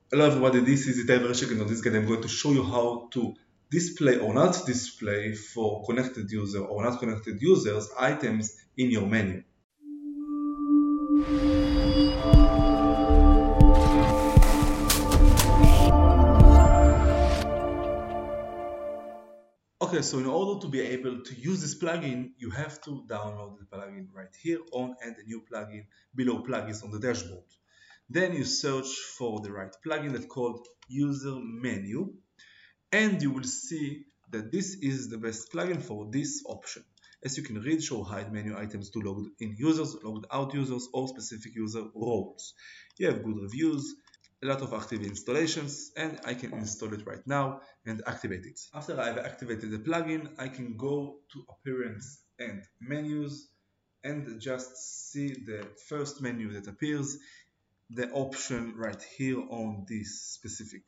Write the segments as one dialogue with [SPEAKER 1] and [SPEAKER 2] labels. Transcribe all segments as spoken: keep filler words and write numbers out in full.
[SPEAKER 1] Hello everybody, this is Itay Vereshek, and on this guide I'm going to show you how to display or not display for connected user or not connected users items in your menu. Okay, so in order to be able to use this plugin, you have to download the plugin right here on Add a New Plugin below Plugins on the dashboard. Then you search for the right plugin that's called User Menu, and you will see that this is the best plugin for this option. As you can read, show hide menu items to logged in users, logged out users, or specific user roles. You have good reviews, a lot of active installations, and I can install it right now and activate it. After I've activated the plugin, I can go to Appearance and Menus and just see the first menu that appears, the option right here on this specific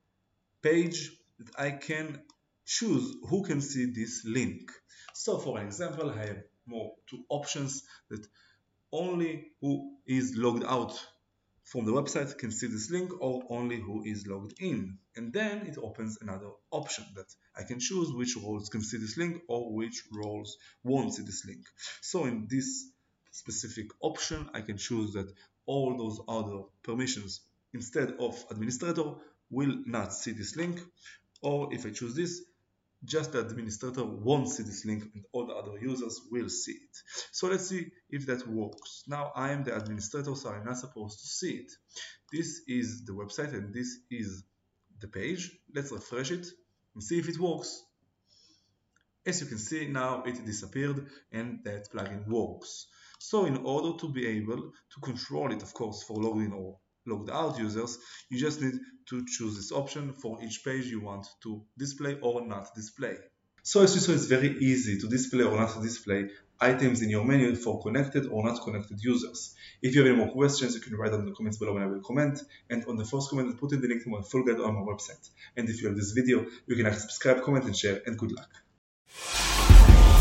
[SPEAKER 1] page that I can choose who can see this link. So for an example, I have more two options that only who is logged out from the website can see this link, or only who is logged in. And then it opens another option that I can choose which roles can see this link or which roles won't see this link. So in this specific option, I can choose that all those other permissions instead of administrator will not see this link, or if I choose this, just the administrator won't see this link and all the other users will see it. So let's see if that works. Now I am the administrator, so I'm not supposed to see it. This is the website and this is the page. Let's refresh it and see if it works. As you can see, now it disappeared and that plugin works. So in order to be able to control it, of course, for logged in or logged out users, you just need to choose this option for each page you want to display or not display. So as you saw, it's very easy to display or not to display items in your menu for connected or not connected users. If you have any more questions, you can write them in the comments below and I will comment. And on the first comment, put in the link to my full guide on my website. And if you like this video, you can like, subscribe, comment and share, and good luck.